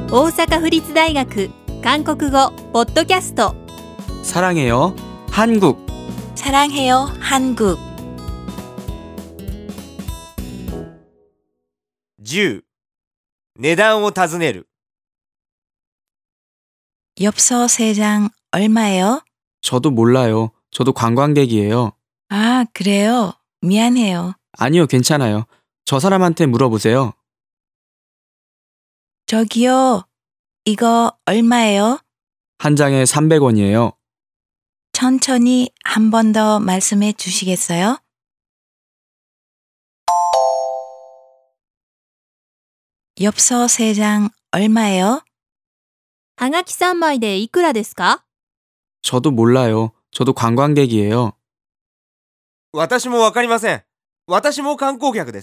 大阪府立大学韓国語ポッドキャスト 사랑해요 한국 사랑해요 한국 10. 値段を尋ねる 엽서 3장 얼마예요? 저도 몰라요. 저도 관광객이에요. 아, 그래요? 미안해요. 아니요, 괜찮아요. 저 사람한테 물어보세요. 저기요, 이거 얼마예요? 한 장에 300원이에요. 천천히 한 번 더 말씀해 주시겠어요? 엽서 3장 얼마예요? はがき3枚でいくらですか？ 저도 몰라요. 저도 관광객이에요. 私もわかりません。私も観光客です。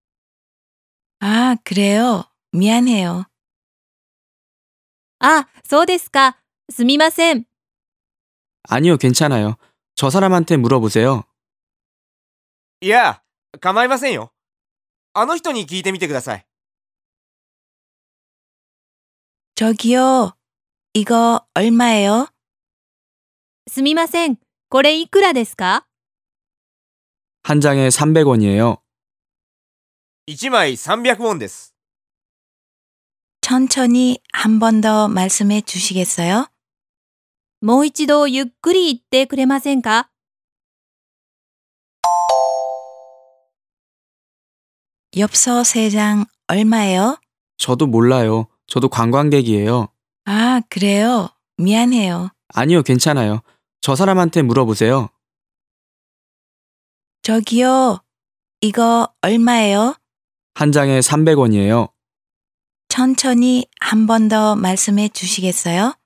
아, 그래요? 미안해요. あ、そうですか。すみません。 아니요, 괜찮아요. 저 사람한테 물어보세요. いや、構いませんよ。あの人に聞いてみてください。 저기요, 이거 얼마예요? すみません。これいくらですか？ 한 장에 300원이에요. 1枚300ウォンです。 천천히 한 번 더 말씀해 주시겠어요? もう一度ゆっくり言ってくれませんか？ 엽서 3장 얼마예요? 저도 몰라요. 저도 관광객이에요. 아, 그래요? 미안해요. 아니요, 괜찮아요. 저 사람한테 물어보세요. 저기요, 이거 얼마예요? 한 장에 300원이에요. 천천히 한 번 더 말씀해 주시겠어요?